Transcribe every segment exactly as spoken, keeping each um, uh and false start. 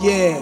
Yeah,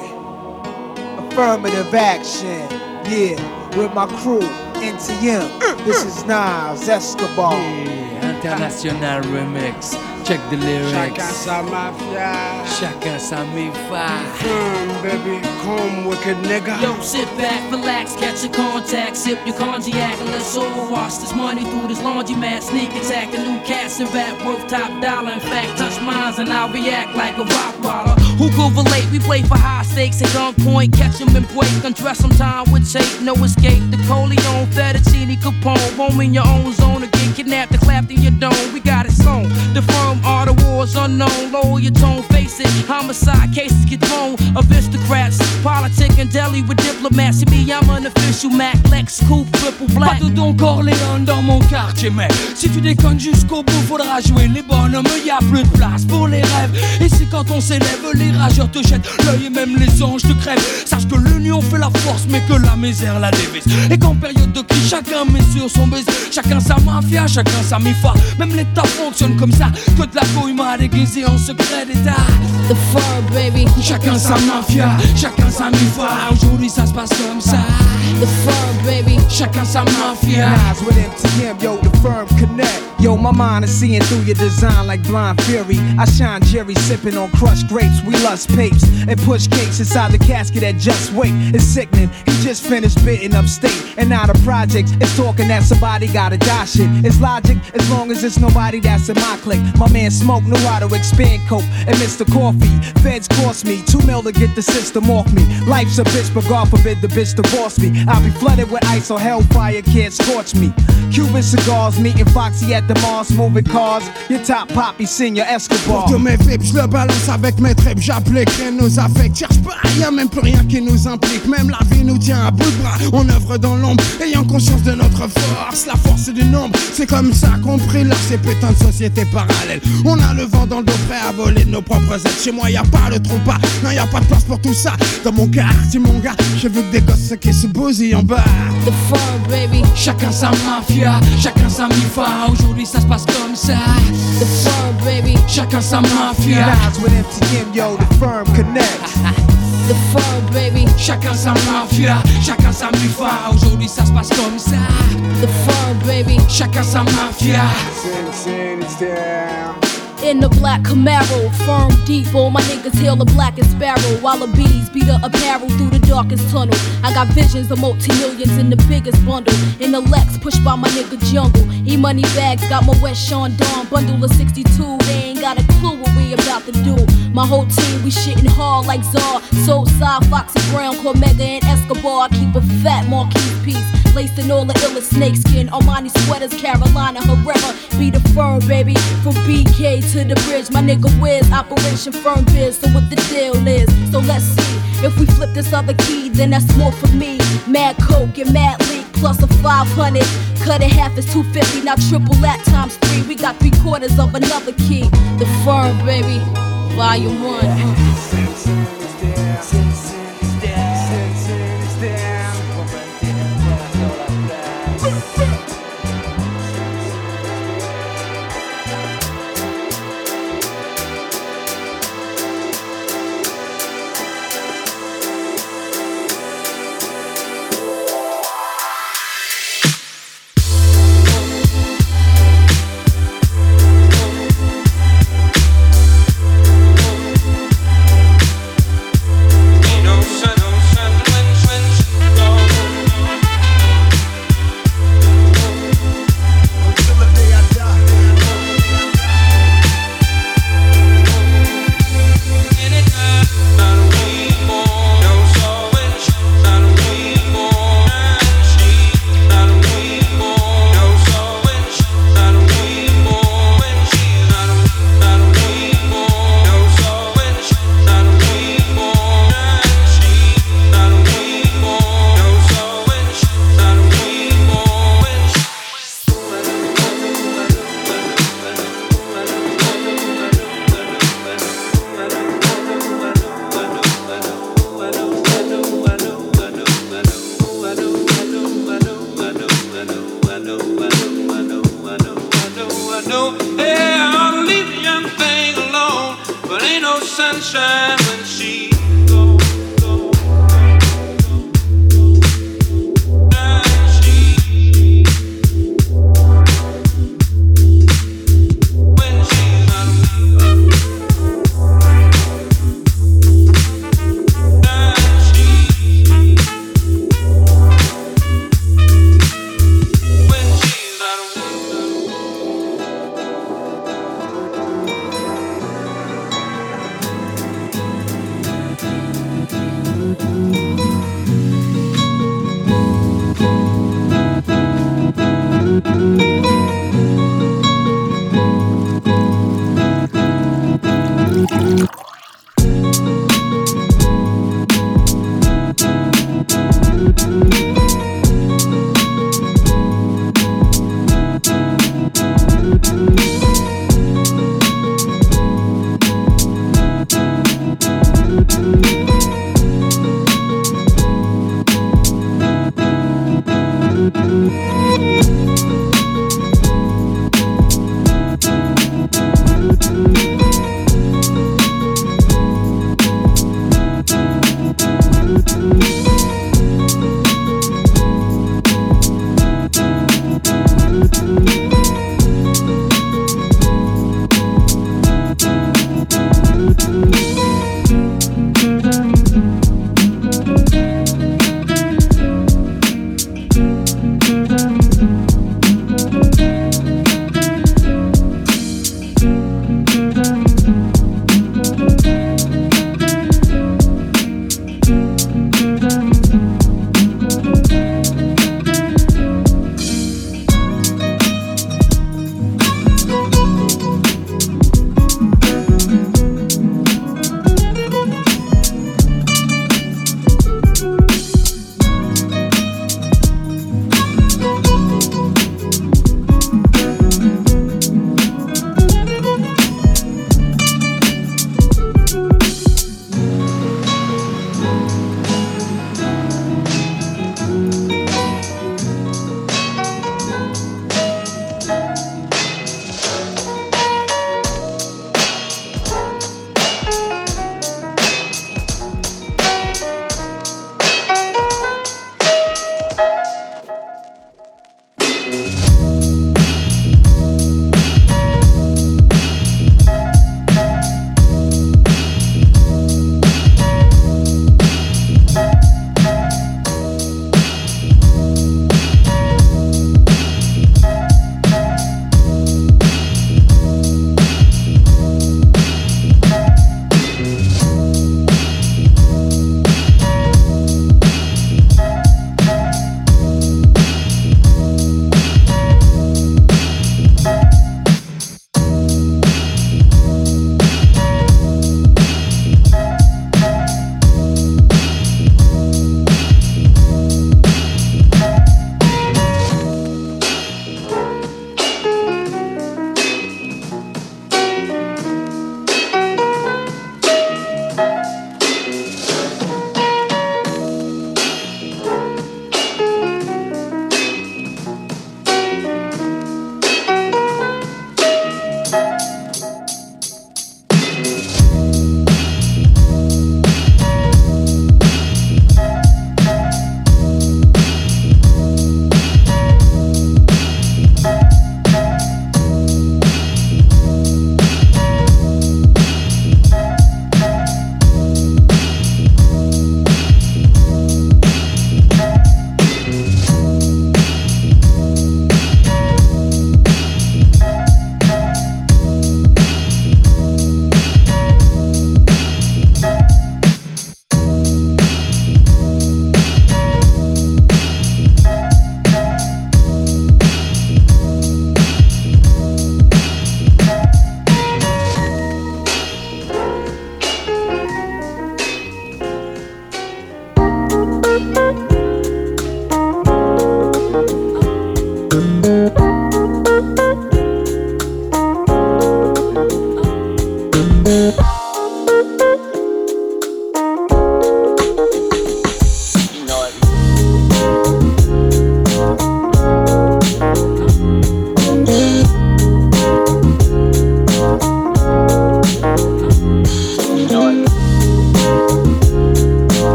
affirmative action. Yeah, with my crew, N T M. This is Nas Escobar. Yeah, international remix. Check the lyrics. Chacun sa mafia. Chacun sa mi-fa. Come, baby, come, wicked nigga. Yo, sit back, relax, catch your contact, sip your cognac, and let's all wash this money through this laundromat. Sneak attack, the new cats and rap worth top dollar. In fact, touch mines and I'll react like a rock waller. Who could relate? We play for high stakes at gunpoint, catch 'em and break, undress some time with tape, no escape. The Coleon, Fettuccine, Capone, home in your own zone, or get kidnapped and clapped in your dome. We got it sewn. The firm are the wars unknown. Lower your tone, face it. Homicide cases get thrown. Aristocrats, politic and deli with diplomats. See me, I'm an official Mac, Lex, Coupe, triple black. Pas de Don Corleone dans mon quartier, mais si tu déconnes jusqu'au bout, faudra jouer les bonhommes. Y a plus de place pour les rêves. Et c'est quand on s'élève, les rageurs te jettent l'œil et même les anges te crèvent. Sache que l'union fait la force, mais que la misère la dévise. Et qu'en période de crise, chacun met sur son baiser. Chacun sa mafia, chacun sa mi-fa. Même l'État fonctionne comme ça, que de la couille m'a déguisé en secret d'État. The firm, baby. Chacun sa mafia, chacun sa mi-fa. Aujourd'hui ça se passe comme ça. The firm, baby. Chacun sa mafia. Nas with M T M, yo, the firm connect. Yo, my mind is seeing through your design like blind fury. I shine Jerry sipping on crushed grapes. We lust papes and push cakes inside the casket that just wait. It's sickening. He just finished bidding upstate. And now the projects is talking that somebody gotta die shit. It's logic as long as it's nobody that's in my clique. My man Smoke knew how to expand coke and Mister Coffee. Feds cost me two mil to get the system off me. Life's a bitch, but God forbid the bitch divorce me. I'll be flooded with ice or hellfire can't scorch me. Cuban cigars, meeting Foxy at the Mars, moving cars. Your top poppy, Senior Escobar. Pour tous mes vips, je le balance avec mes tripes. J'applique rien nos affects. Cherche pas, y'a même plus rien qui nous implique. Même la vie nous tient à bout de bras. On œuvre dans l'ombre, ayant conscience de notre force. La force du nombre, c'est comme ça qu'on prie là ces putains de sociétés parallèles. On a le vent dans le dos, prêt à voler de nos propres ailes. Chez moi, y'a pas le trou pas. Non, y'a pas de place pour tout ça. Dans mon quartier, mon gars, je veux que des gosses qui se bousillent en bas. The firm, baby. Chacun sa mafia, chacun sa mi-fa. Aujourd'hui ça se passe comme ça. The firm, baby. Chacun sa mafia. Nas with M T M, yo, the firm connect. The firm, baby. Chacun sa mafia, chacun sa mi-fa. Aujourd'hui ça se passe comme ça. The firm, baby. Chacun sa mafia. Sin, sin, it's down. In the black Camaro, firm deep, all my niggas hail the blackest sparrow. While the bees beat the apparel through the darkest tunnel. I got visions of multi-millions in the biggest bundle. In the Lex, pushed by my nigga Jungle. E-money bags, got my West Sean Dawn bundle of sixty-two. They ain't got a clue what we about to do. My whole team, we shitting hard like Czar. Soulside, Foxy Brown, Cormega, and Escobar. I keep a fat Marquis piece. Laced in all the illest snakeskin. Armani sweaters, Carolina Herrera. Be the firm, baby. From B K to the bridge, my nigga Wiz. Operation Firm Biz, so what the deal is. So let's see. If we flip this other key, then that's more for me. Mad Coke and Mad Leak, plus a five hundred. Cut it half is two fifty, now triple that times three. We got three quarters of another key. The firm, baby. Volume one. Sin, sin, it's down. Sin, sin, it's down. Sin, sin, it's down. Sunshine when she goes.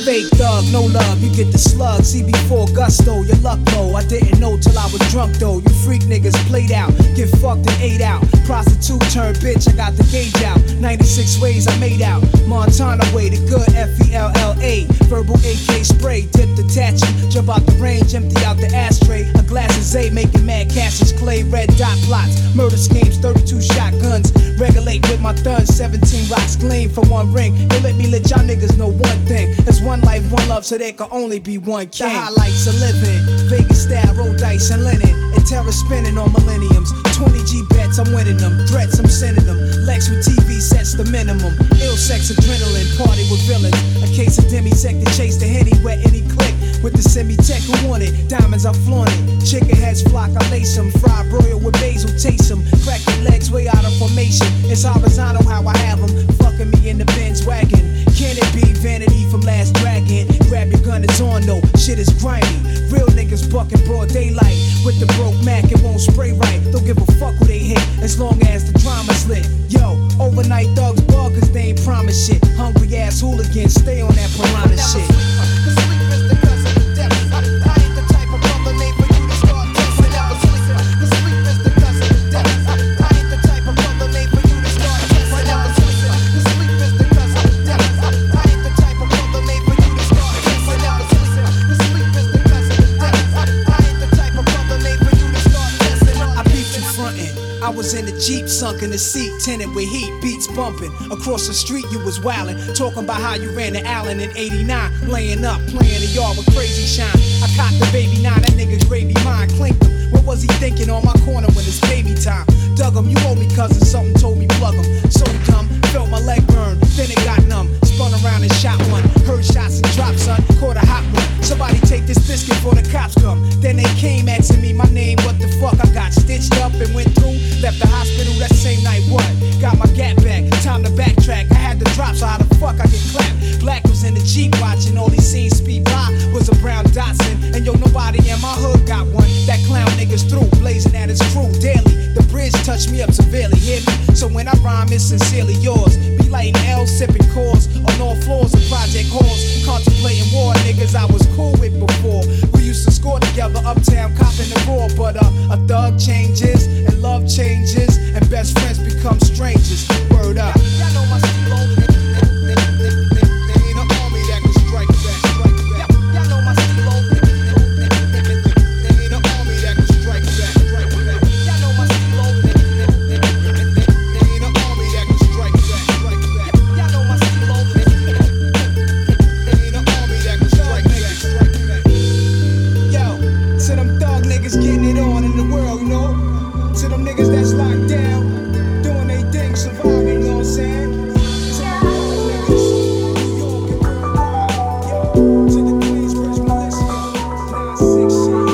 fake thug, no love, you get the slug. See before gusto, your luck low. I didn't know till I was drunk though. You freak niggas played out, get fucked and ate out. Prostitute turned bitch, I got the gauge out. ninety-six ways I made out. Montana way, the good F E L L A. Verbal A K spray, dip the tattoo. Jump out the range, empty out the ashtray. A glass of Zay, making mad Cassius Clay. Red dot plots, murder schemes, thirty-two shotguns. Regulate with my thuns, seventeen rocks gleam for one ring. They let me let y'all niggas know one thing. There's one life, one love, so there can only be one king. The highlights of living, Vegas style, roll dice and linen. And terror spinning on millenniums. twenty G bets, I'm winning them. Threats, I'm sending them. Lex with T V sets the minimum. Ill sex, adrenaline, party with villains. A case of demi-sec to chase the henny wet any click. With the semi-tech who want it, diamonds I flaunt it. Chicken heads flock, I lace them. Fried broil with basil, taste them. Crack your legs way out of formation. It's horizontal how I have them. Fucking me in the Benz wagon. Can it be vanity from Last Dragon? Grab your gun, it's on though. Shit is grimy. Real niggas bucking broad daylight. With the broke Mac, it won't spray right. Don't give a fuck who they hit, as long as the drama's lit. Yo, overnight thugs bug cause they ain't promise shit. Hungry ass hooligans, stay on that piranha shit. I was in the Jeep, sunk in the seat, tinted with heat, beats bumping. Across the street you was wildin', talking about how you ran to Allen in eighty-nine. Laying up, playing the yard with crazy shine. I cocked the baby nine, that nigga gravy mine, clinked him. What was he thinking on my corner when it's baby time? Dug him, you owe me cousin, something told me plug him. So dumb, felt my leg burn, then it got numb. Spun around and shot one, heard shots and dropped son, caught a hot one. Somebody take this biscuit before the cops come. Then they came asking me my name, what the fuck? I got stitched up and went through. Left the hospital that same night, what? Got my gap back, time to backtrack. I had to drop, so how the fuck I get clapped? Black was in the Jeep watching, all he seen speed by was a brown Datsun. And yo, nobody in my hood got one. That clown niggas through, blazing at his crew daily. The bridge touched me up severely, hear me? So when I rhyme, it's sincerely yours. Be lighting L, sipping cores on all floors of project halls. Contemplating war, niggas I was cool with before. We used to score together, uptown, copping the raw. But uh, a thug changes, and love changes, and best friends become strangers. Word up. Y'all know my stilo. There ain't an army that can strike back. Y'all know my stilo. There ain't an army that can strike back. Y'all know my stilo. There ain't an army that can strike back. Y'all know my stilo. There ain't an army that can strike back. Yo, to them thug niggas getting it on in the world, you know? To them niggas that's locked down, doing they thing, surviving, you know what I'm saying? To them thug niggas, New York and worldwide, yo. To the Queensbridge militia, nine six shit.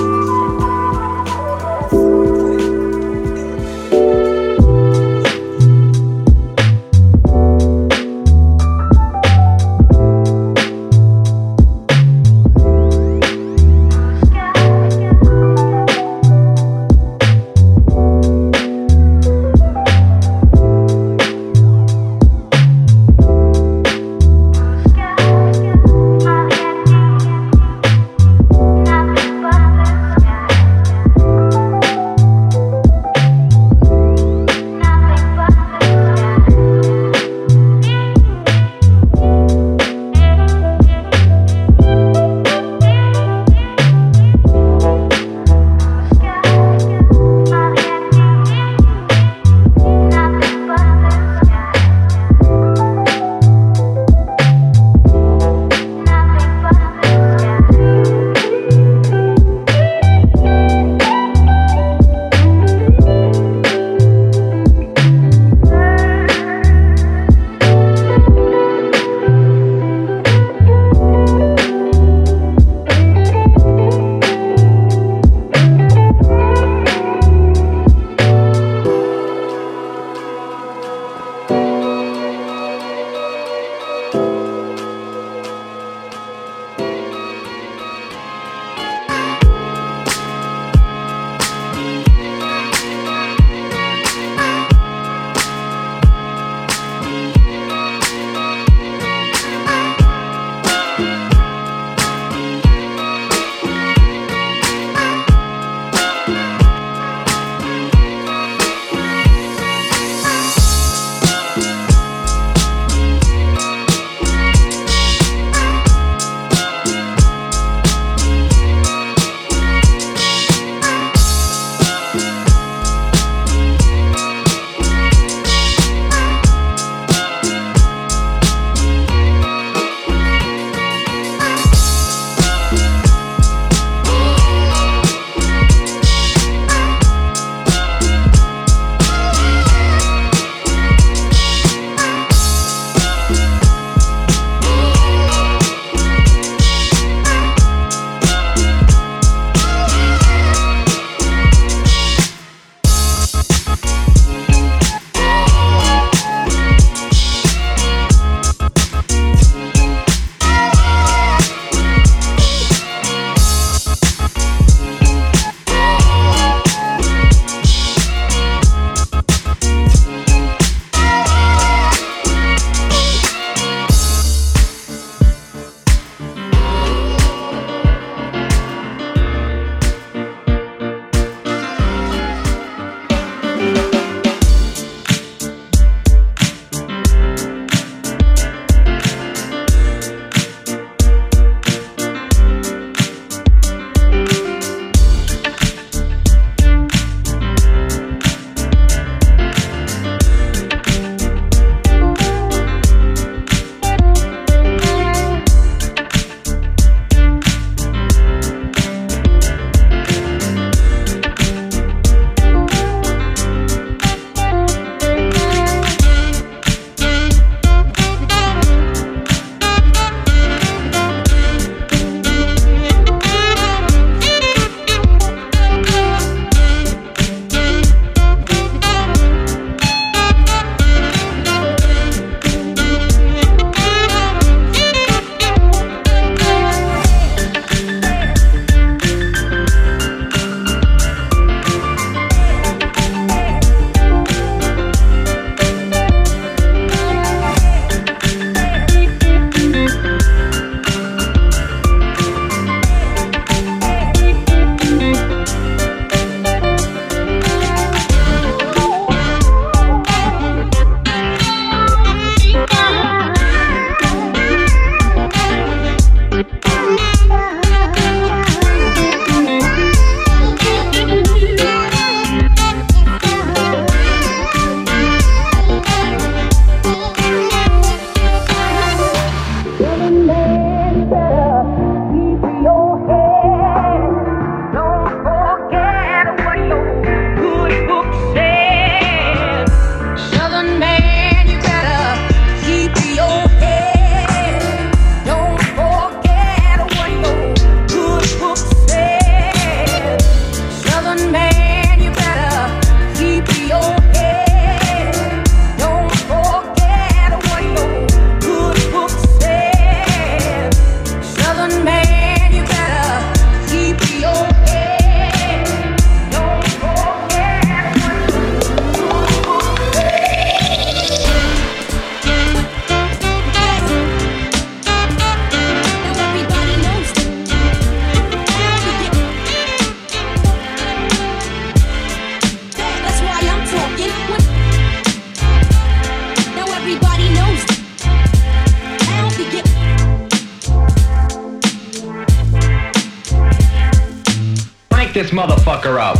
this motherfucker up.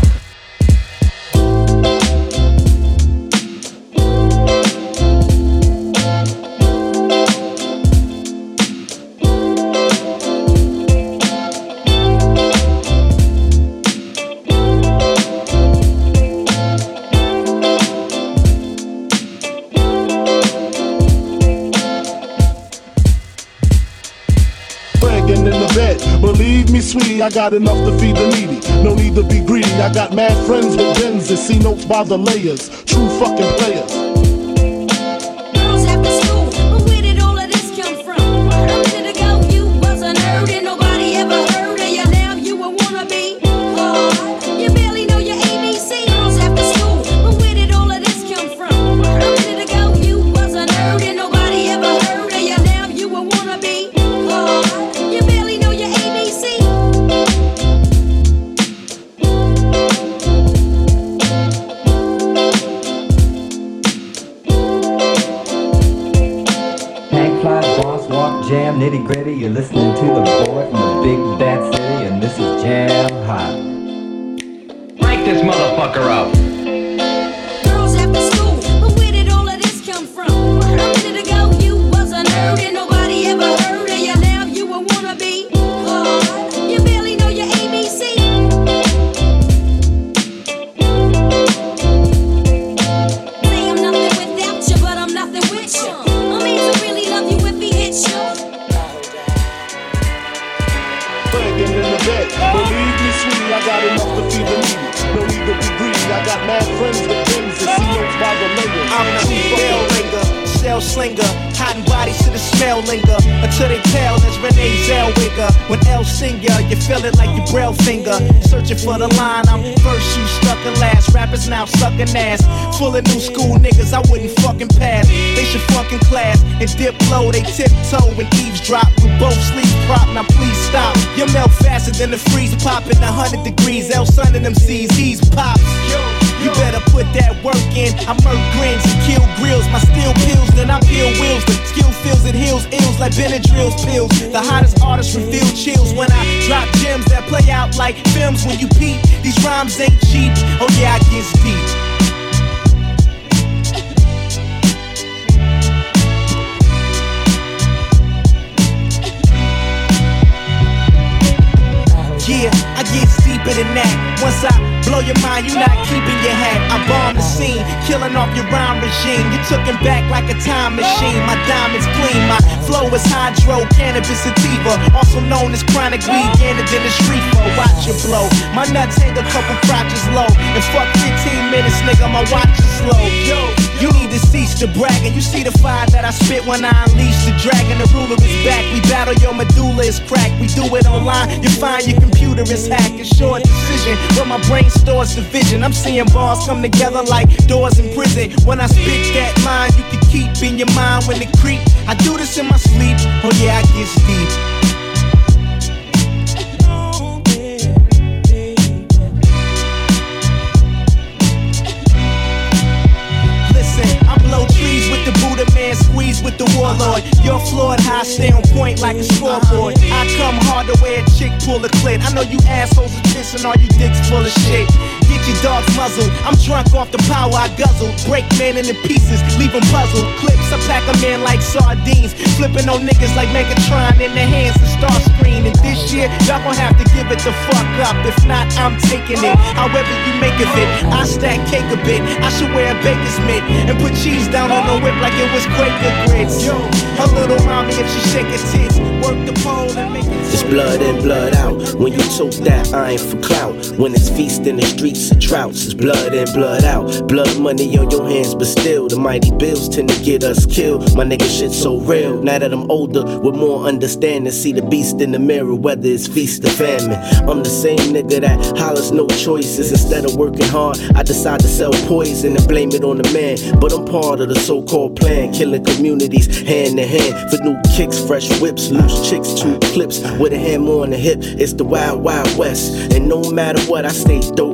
Believe me, sweetie, I got enough to feed the needy. No need to be greedy. I got mad friends with Benz that see notes by the layers. True fucking players. Girls after school, but where did all of this come from? A minute ago you was a nerd and nobody ever heard of you. Now you a wannabe. Oh, you barely know your A B C. Girls after school, but where did all of this come from? A minute ago you was a nerd and nobody ever heard of you. Now you a wannabe. Oh, you barely know your A B C. Hang fly, boss, walk, jam, nitty gritty. You're listening to the boy from the big bad city, and this is Jam Hot. Crank this motherfucker up. Girls after school, but where did all of this come from? A minute ago you was a nerd and nobody ever heard of you. Now you a wannabe. Oh, you barely know your A B C. Say I'm nothing without you, but I'm nothing with you. I mean to really love you if he hits you. Begging in the bed. Believe me, sweetie, I got enough to feed the needy. No need to be greedy. I got mad friends with Benz that see notes by the layers. I'm the True bell fucking ringer, cell slinger, hot bodies to the smell linger until they tell that's Renee Zellweger. When L sing ya, you feel it like your braille finger. Searching for the line, I'm first, you stuck in last. Rappers now sucking ass, full of new school niggas I wouldn't fucking pass. They should fucking class and dip low, they tiptoe and eavesdrop with both sleeves prop. Now please stop, you melt faster than the freeze popping a hundred degrees. L Sun and them C's, he's pops. You better put that work in. I murk grins and kill grills. My steel pills, then I peel wheels. The skill feels it heals ills like Benadryl's pills. The hottest artists reveal chills when I drop gems that play out like films when you peep. These rhymes ain't cheap. Oh yeah, I get deep. Yeah, I get deeper than that. Once I blow your mind, you not keeping your hat. I bomb the scene, killing off your rhyme regime. You took him back like a time machine. My diamonds gleam, my flow is hydro, cannabis sativa, also known as chronic weed, gander than a street flow. Watch your blow. My nuts hang a couple crotches low. And fuck fifteen minutes, nigga, my watch is slow. Yo, you need to cease the bragging. You see the fire that I spit when I unleash the dragon. The ruler is back. We battle, your medulla is cracked. We do it online. You find your computer is hacked. It's short decision, but my brain stores the vision. I'm seeing bars come together like doors in prison. When I spit that line, you can keep in your mind when it creep. I do this in my sleep. Oh yeah, I get deep. Trees with the Buddha man, squeeze with the warlord. You're floored, high, stay on point like a scoreboard. I come hard to wear a chick, pull a clit. I know you assholes are pissing, all you dicks full of shit. Get your dogs muzzled. I'm drunk off the power I guzzle. Break men into pieces, leave them puzzled. Clips, I pack them in like sardines. Flipping on niggas like Megatron in their hands and star screen. And this year, y'all gon' have to give it the fuck up. If not, I'm taking it. However you make of it, I stack cake a bit. I should wear a baker's mitt and put cheese down on the whip like it was Quaker grits. Yo, her little mommy, if she shake her tits, work the pole and make it. It's blood in, blood out. When you tote that, I ain't for clout. When it's feast in the streets of trouts, it's blood in, blood out. Blood money on your hands, but still, the mighty bills tend to get us killed. My nigga shit so real. Now that I'm older, with more understanding, see the beast in the mirror, whether it's feast or famine. I'm the same nigga that hollers no choices. Instead of working hard, I decide to sell poison and blame it on the man. But I'm part of the so-called plan, killing communities hand in hand. For new kicks, fresh whips, loose chicks, two clips with a hammer on the hip. It's the wild, wild west. And no matter what, I stay dope, man.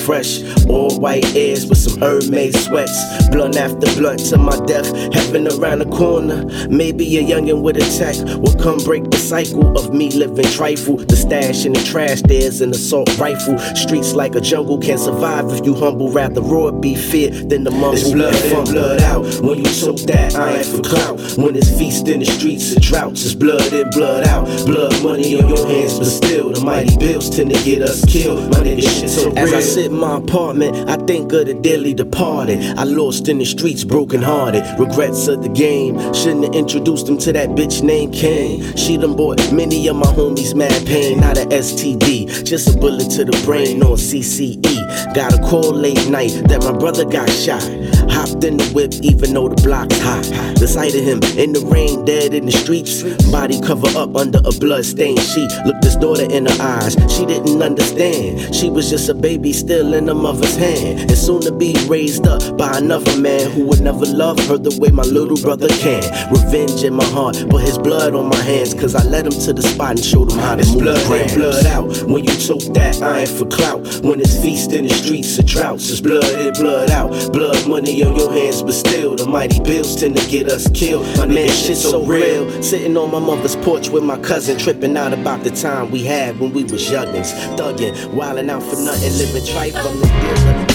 fresh. All white airs with some Hermes sweats. Blunt after blunt to my death. Heaven around the corner. Maybe a youngin' with a tech will come break the cycle of me living trifle. The stash in the trash, there's an assault rifle. Streets like a jungle, can't survive if you humble. Rather raw be feared than the mumble. It's blood in, blood out. When you choke that iron for clout. When it's feast in the streets of droughts, it's blood in, blood out. Blood money on your hands, but still the mighty bills tend to get us killed. My nigga shit so real. As I sit in my apartment, I think of the dearly departed. I lost in the streets, broken hearted. Regrets of the game. Shouldn't have introduced them to that bitch named Kane. She done bought many of my homies mad pain. Not a S T D, just a bullet to the brain on C C E. Got a call late night that my brother got shot. Hopped in the whip even though the block's hot. The sight of him in the rain, dead in the streets. Body cover up under a blood-stained sheet. Looked his daughter in her eyes, she didn't understand. She was just a baby still in her mother's hand. And soon to be raised up by another man who would never love her the way my little brother can. Revenge in my heart, but his blood on my hands. Cause I led him to the spot and showed him how to move blood in, blood out. When you choke that iron for clout. When it's feast in the streets of droughts, it's blood in, blood out. Blood money on your hands, but still the mighty bills tend to get us killed. My man, shit so real. Sitting on my mother's porch with my cousin, tripping out about the time we had when we was youngins. Thuggin', wildin' out for nothing, living trife from the deal.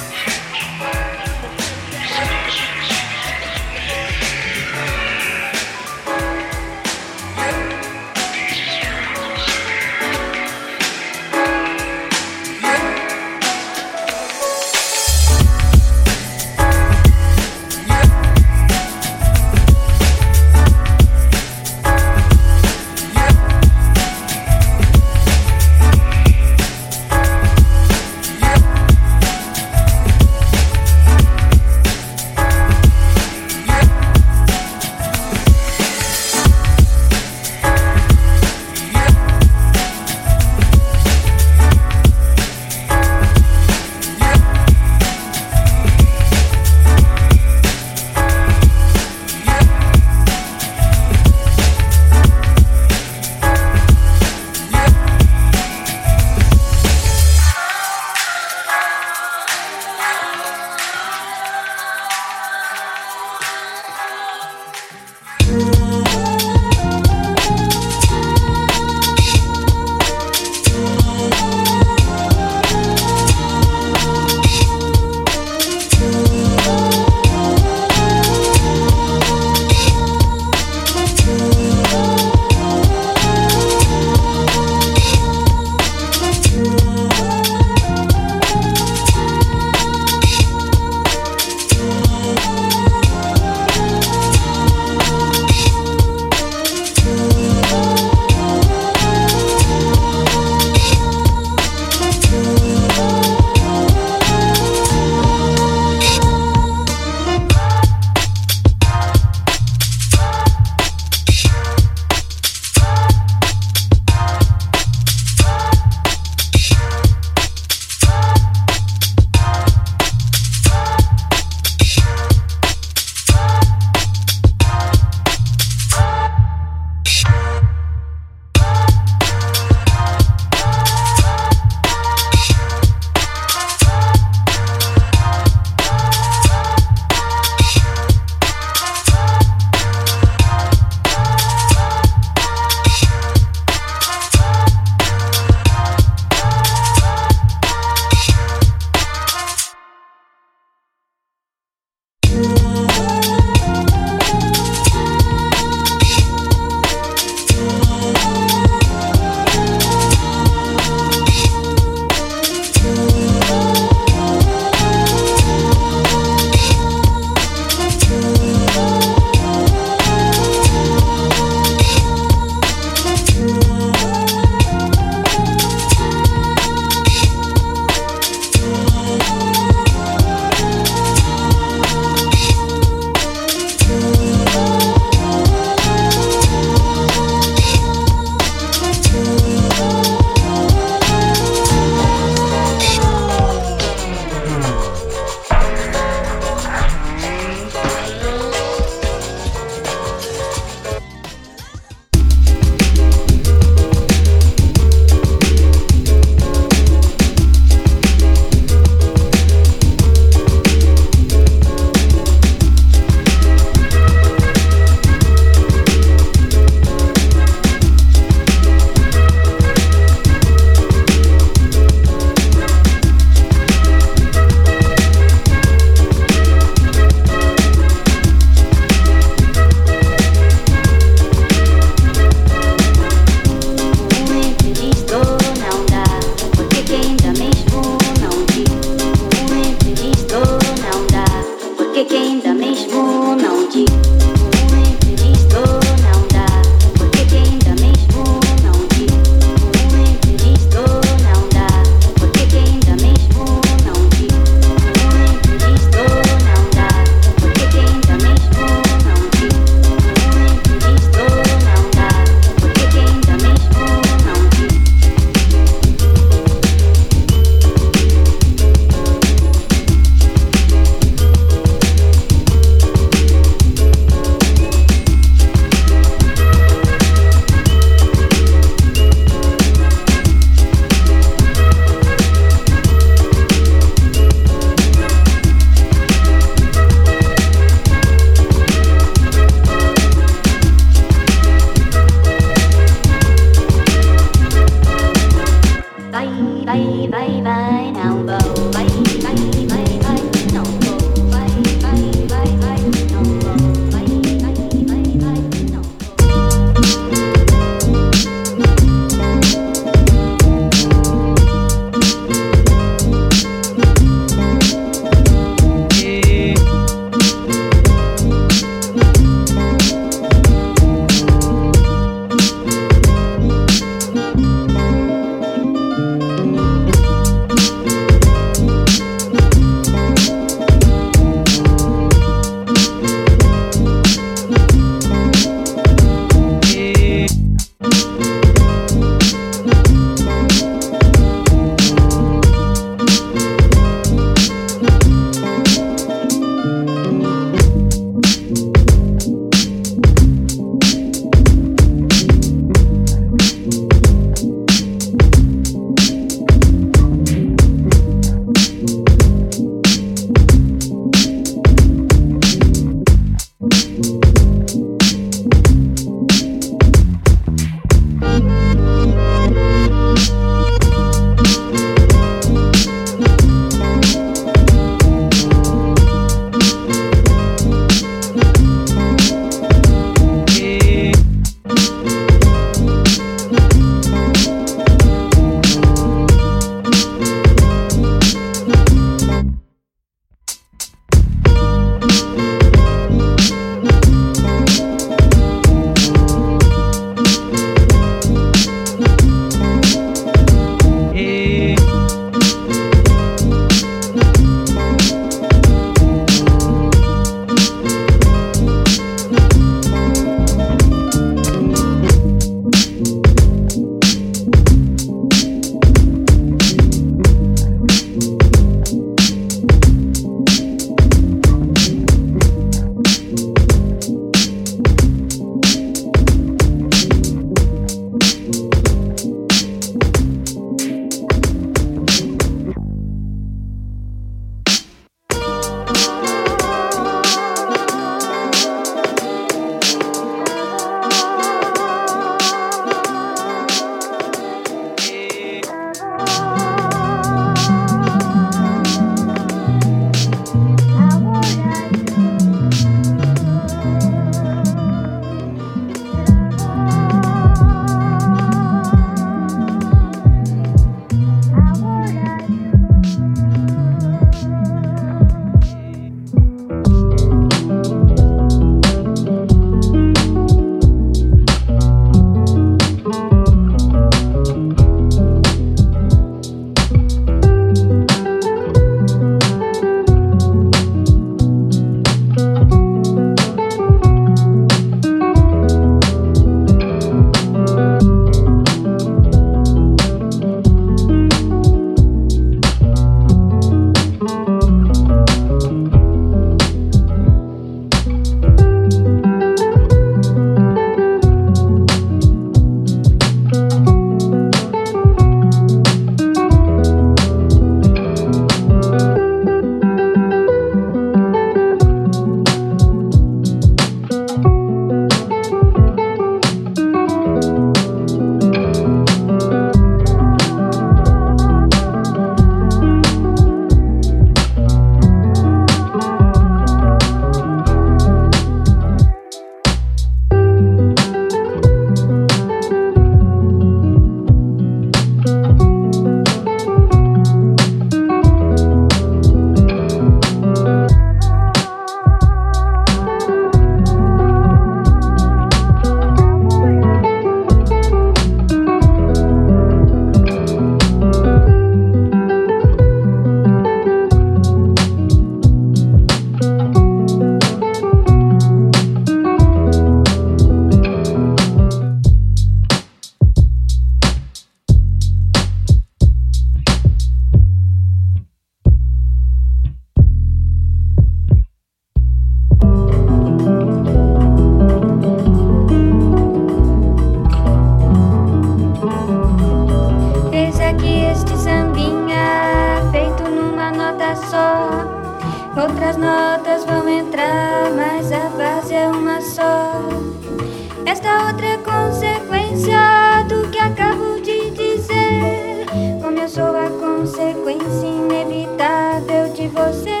Outras notas vão entrar, mas a base é uma só. Esta outra é consequência do que acabo de dizer. Como eu sou a consequência inevitável de você.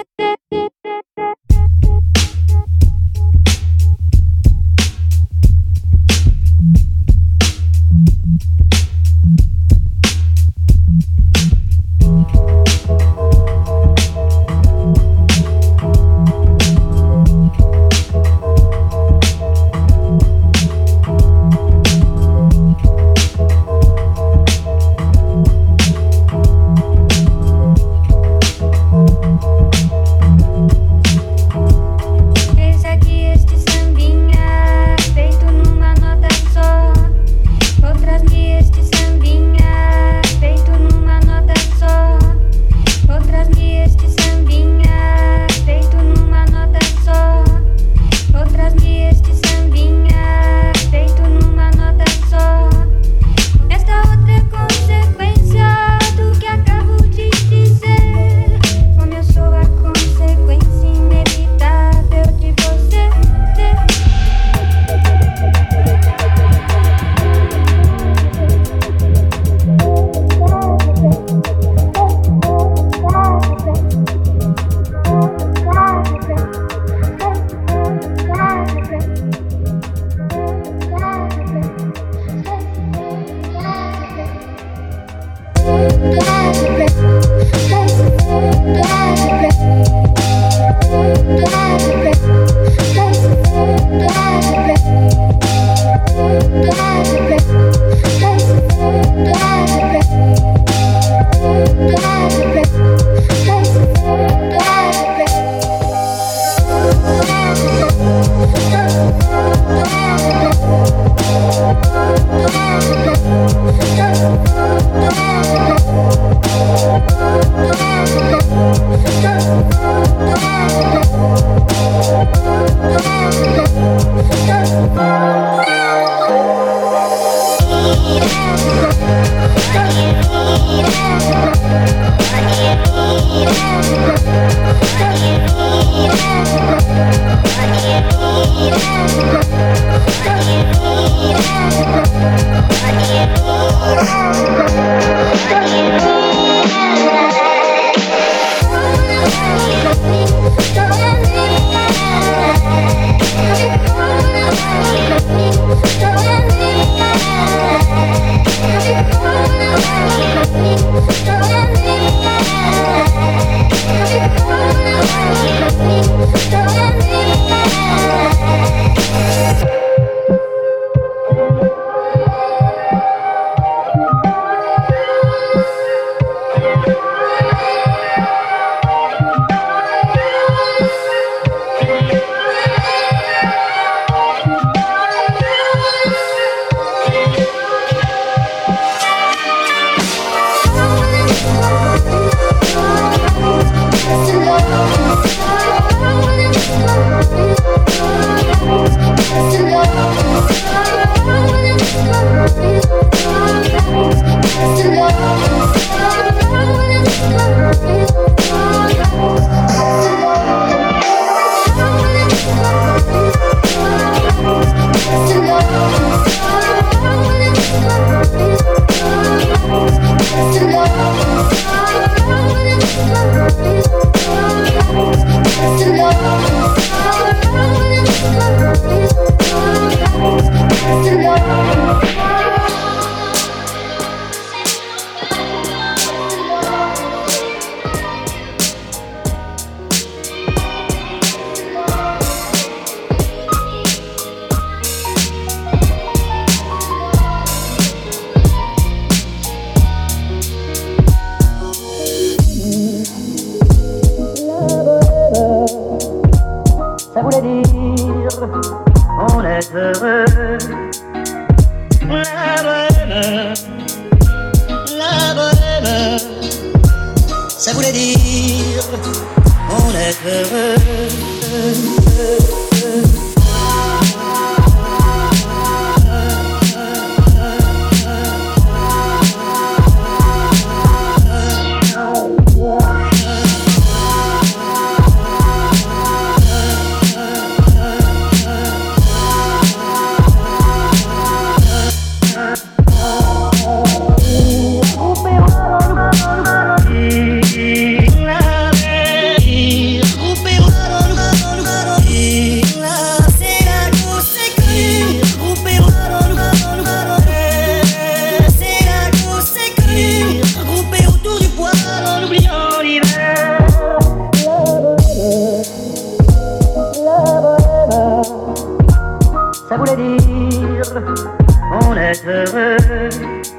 voulait dire on est heureux.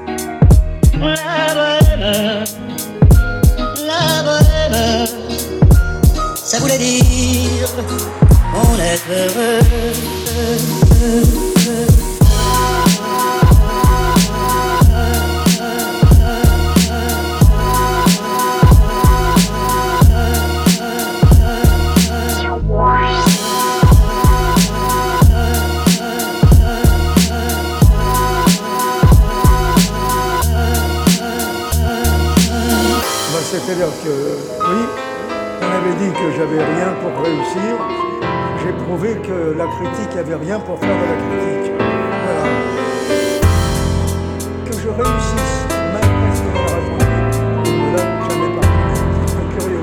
La bohème, la bohème, ça voulait dire on est heureux. C'est-à-dire que, oui, on avait dit que j'avais rien pour réussir. J'ai prouvé que la critique avait rien pour faire de la critique. Voilà. Que je réussisse, même presque dans la réponse, ne l'a jamais parlé. C'est très curieux.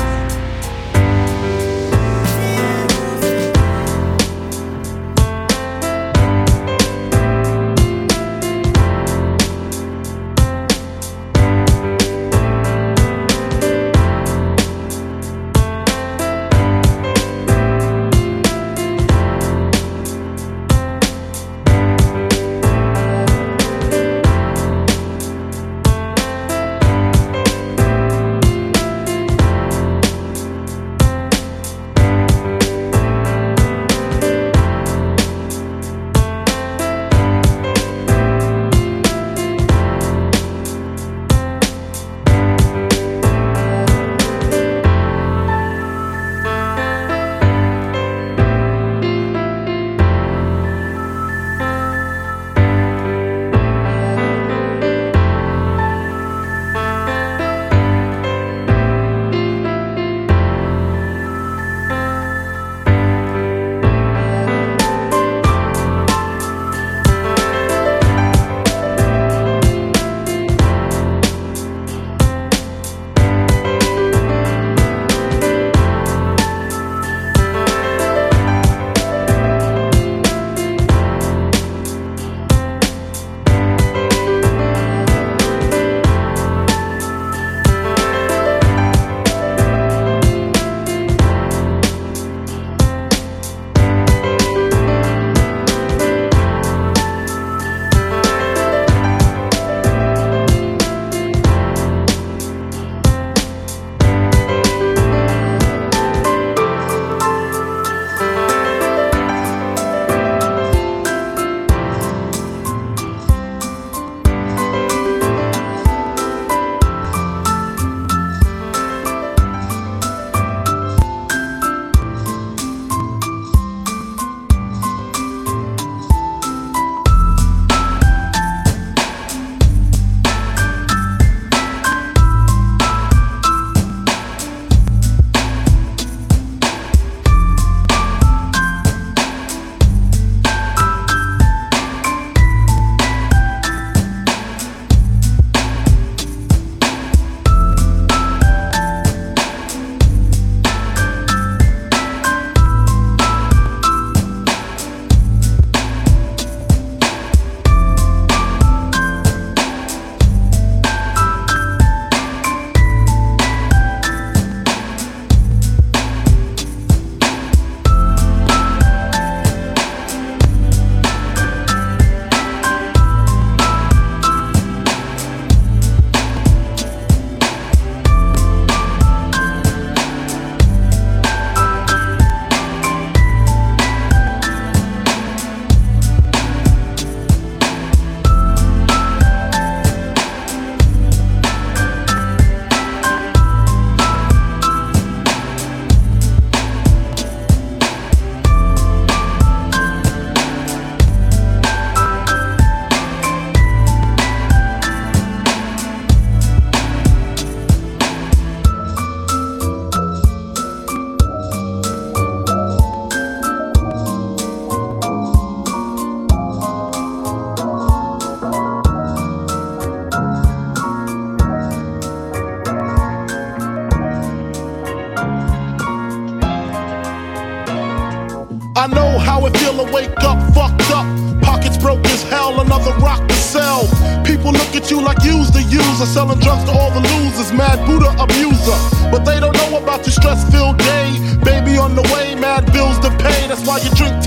I know how it feel to wake up fucked up. Pockets broke as hell, another rock to sell. People look at you like you's the user, selling drugs to all the losers, mad Buddha abuser. But they don't know about your stress-filled day. Baby on the way, mad bills to pay. That's why you drink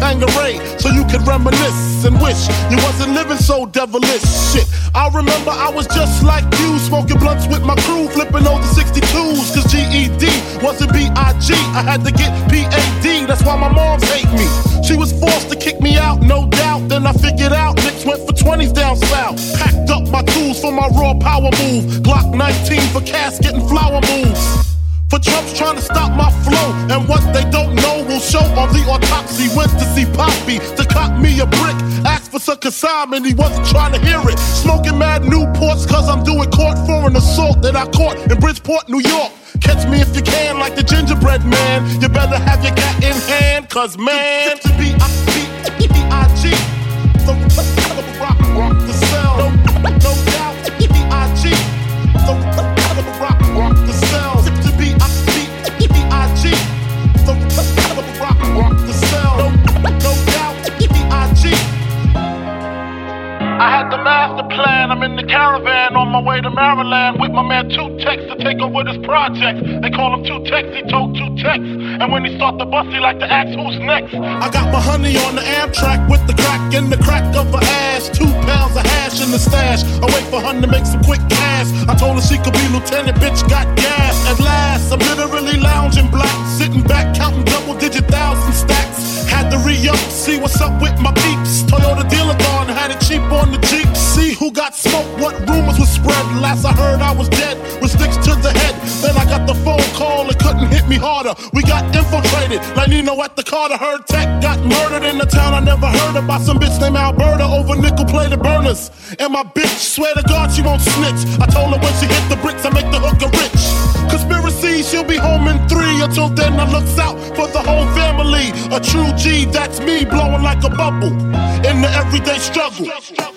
Tanqueray so you could reminisce and wish you wasn't living so devilish. Shit, I remember I was just like you, smoking blunts with my crew, flipping over sixty-twos. Cause G E D wasn't B I G, I had to get P A D, that's why my moms hate me. She was forced to kick me out, no doubt. Then I figured out Nicks went for twenties down south. Packed up my tools for my raw power move. Glock nineteen for casket and flower moves. For Trump's trying to stop my flow, and what they don't know will show on the autopsy. Went to see Poppy to cop me a brick. Asked for some consignment, he wasn't trying to hear it. Smoking mad Newports cause I'm doing court for an assault that I caught in Bridgeport, New York. Catch me if you can like the gingerbread man. You better have your cat in hand, cause man, to be B I G the rock, rock the cell. No, no doubt, B I G the rock, rock the cell. To be B I G the rock, rock the cell. No, no doubt, B I G. I had the master plan, I'm in the caravan on my way to Maryland with my man Two Tex to take over this project. They call him Two Tex, he told Two Tex. And when he start the bus, he like to ask who's next. I got my honey on the Amtrak with the crack in the crack of her ass. Two pounds of hash in the stash. I wait for her to make some quick cash. I told her she could be lieutenant, bitch got gas. At last, I'm literally lounging black, sitting back counting double digit thousand stacks. Had to re-up, see what's up with my peeps. Toyota dealer gone, had it cheap on the Jeep. See who got smoked, what rumors were spread. Last I heard I was dead, with sticks to the head. Then I got the phone call, it couldn't hit me harder. We got infiltrated, like Nino at the Carter. Heard Tech got murdered in the town I never heard about. Some bitch named Alberta over nickel-plated burners. And my bitch, swear to God she won't snitch. I told her when she hit the bricks I make the hooker rich. Conspiracy, she'll be home in three. Until then I looks out for the whole family. A true G, that's me, blowing like a bubble in the everyday struggle.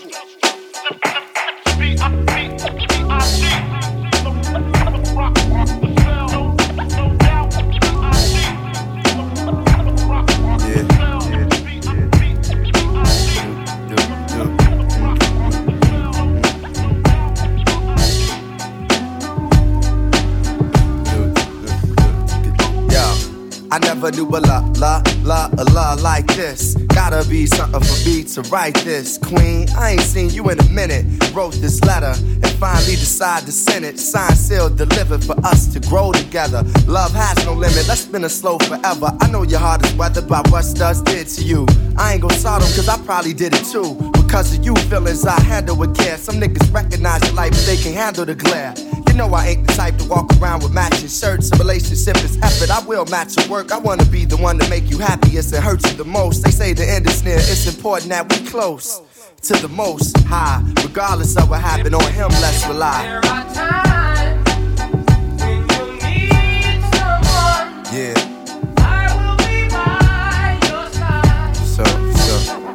I never knew a la, la, la, a la like this. Gotta be something for me to write this. Queen, I ain't seen you in a minute. Wrote this letter and finally decided to send it. Signed, sealed, delivered for us to grow together. Love has no limit, let's spin it slow forever. I know your heart is weathered by what Studs did to you. I ain't gon' salt them cause I probably did it too. Because of you feelings I handle with care. Some niggas recognize your life but they can handle the glare. You know I ain't the type to walk around with matching shirts. A relationship is effort, I will match your work. I wanna be the one to make you happiest and hurt you the most. They say the end is near, it's important that we close to the most high. Regardless of what happened on him, let's rely. There are times when you need someone. Yeah. I will be by your side. So, so.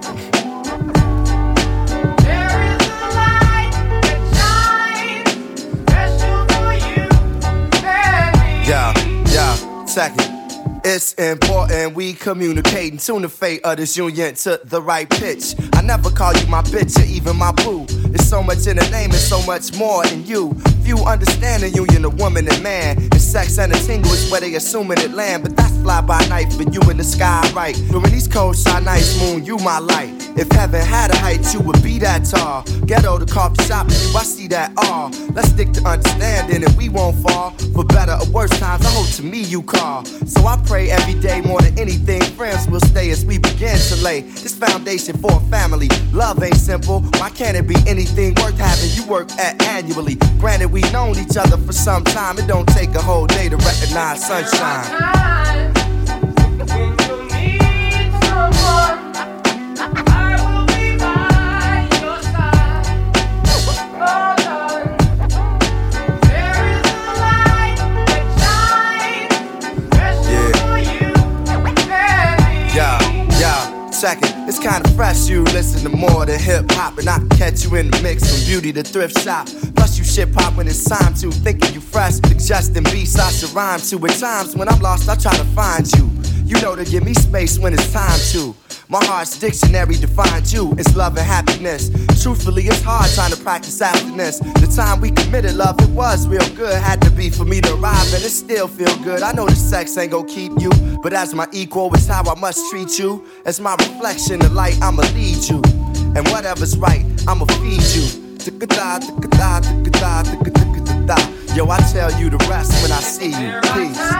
There is a light that shines special for you and me. Yeah, yeah, second. It's important we communicate and tune the fate of this union to the right pitch. I never call you my bitch or even my boo. There's so much in the name and so much more in you. Few understand the union of woman and man. And sex and a tingle is where they assuming it land. But that's fly by night for you in the sky, right? During these cold shy nights, moon, you my light. If heaven had a height, you would be that tall. Ghetto to coffee shop, and you, I see that all. Let's stick to understanding and we won't fall. For better or worse times, I hope to me you call. So I pray every day more than anything, friends will stay as we begin to lay this foundation for a family. Love ain't simple, why can't it be anything worth having you work at annually? Granted, we known each other for some time, it don't take a whole day to recognize sunshine. There are times when you need someone. I will be by your side. Oh, Lord. There is a light that shines special for you and me. Yeah, yeah, check it. It's kinda fresh, you listen to more than hip hop. And I can catch you in the mix from beauty to thrift shop. Plus you shit pop when it's time to. Thinking you fresh, suggesting beats I should rhyme to. At times when I'm lost, I try to find you. You know to give me space when it's time to. My heart's dictionary defined you. It's love and happiness. Truthfully, it's hard trying to practice happiness. The time we committed love, it was real good. Had to be for me to arrive, and it still feel good. I know the sex ain't gon' keep you, but as my equal, it's how I must treat you. As my reflection, the light, I'ma lead you. And whatever's right, I'ma feed you. Yo, I tell you the rest when I see you. Peace.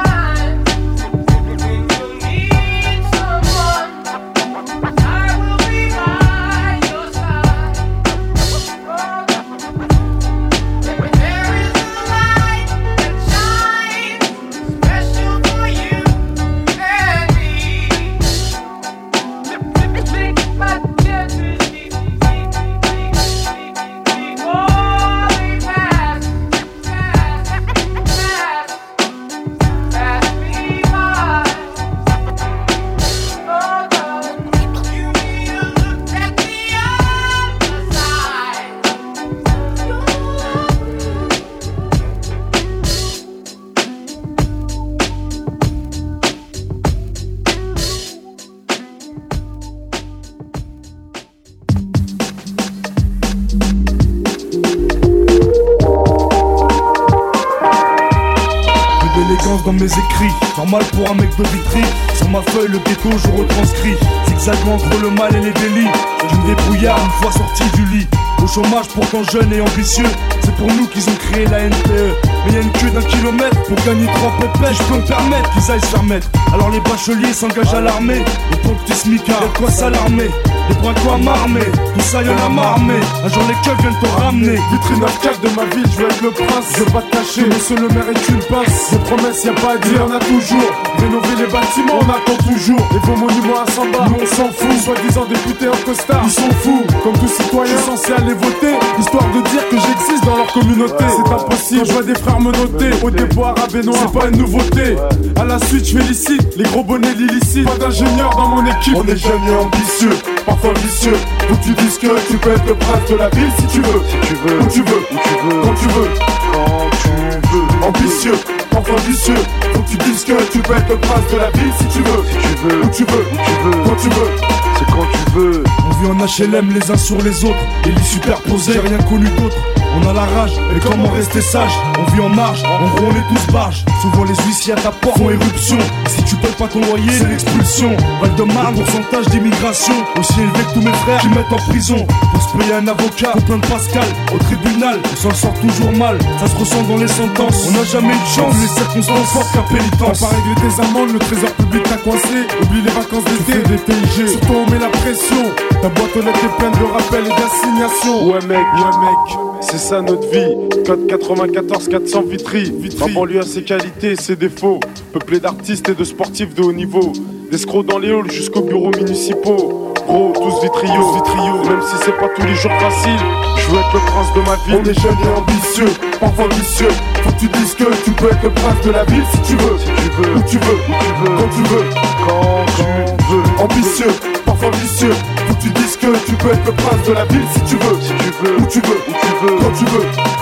Dans mes écrits, normal pour un mec de Vitry. Sur ma feuille le ghetto je retranscris, zigzagant entre le mal et les délits. D'une débrouillard une fois sorti du lit. Au chômage pourtant jeune et ambitieux. C'est pour nous qu'ils ont créé la N P E. Mais y'a une queue d'un kilomètre pour gagner trois pépettes. Je peux me permettre qu'ils aillent se faire mettre. Alors les bacheliers s'engagent à l'armée. Les pompiers smicards, y'a de quoi s'alarmer. Les braquois m'armer, tout ça y'en a marmé. Un jour les keufs viennent te ramener. Vitrine neuf quatre de ma ville, je veux être le prince. Je veux pas te cacher, monsieur le maire est une pince. Des promesses y'a pas à dire, y'en a toujours. Rénover les bâtiments, on attend toujours. Les beaux monuments à Samba, nous on s'en fout. Soi-disant députés en costard, ils sont fous. Comme tout citoyen censé aller voter, histoire de dire que j'existe dans leur communauté. C'est impossible, quand je vois des frères me noter. Au dépôt arabe et noir, c'est pas une nouveauté. À la suite je félicite les gros bonnets l'illicite. Pas d'ingénieur dans mon équipe. On est jeunes et ambitieux, parfois vicieux. Faut que tu dises que tu peux être le prince de la ville si tu veux. Si tu veux, où tu veux, où tu veux, quand tu veux, quand tu veux. Ambitieux, parfois vicieux. Faut que tu dises que tu peux être le prince de la ville si tu veux. Si tu veux, où tu veux, où tu veux, quand tu veux. C'est quand tu veux. On vit en H L M les uns sur les autres, les lits superposés, j'ai rien connu d'autre. On a la rage, et comment rester sage? On vit en marge, en gros on est tous barges. Souvent les huissiers à ta porte font éruption. Et si tu payes pas ton loyer, c'est l'expulsion. Val-de-Marne, pourcentage d'immigration aussi élevé que tous mes frères qui mettent en prison. Pour se payer un avocat, pour plein de Pascal. Au tribunal, on s'en sort toujours mal. Ça se ressent dans les sentences, on n'a jamais eu de chance. Les circonstances fortes qu'à pénitence. T'as pas réglé tes amendes, le trésor public t'a coincé. Oublie les vacances d'été, des T I G. Surtout on met la pression. Ta boîte aux lettres est pleine de rappels et d'assignations. Ouais mec, ouais mec, c'est ça notre vie. Code quatre-vingt-quatorze quatre cents Vitry. La banlieue a ses qualités et ses défauts. Peuplé d'artistes et de sportifs de haut niveau. D'escrocs dans les halls jusqu'aux bureaux municipaux. Gros, tous vitriaux, vitriaux. Même si c'est pas tous les jours facile, je veux être le prince de ma ville. On est jeunes et ambitieux, parfois vicieux. Faut que tu dises que tu peux être le prince de la ville si tu veux. Si tu veux, où tu veux, où tu veux, quand tu veux, quand tu veux. Ambitieux, parfois vicieux. Faut que tu dises que tu peux être le prince de la ville si tu veux. Si tu veux, où tu veux, où tu veux, quand tu veux.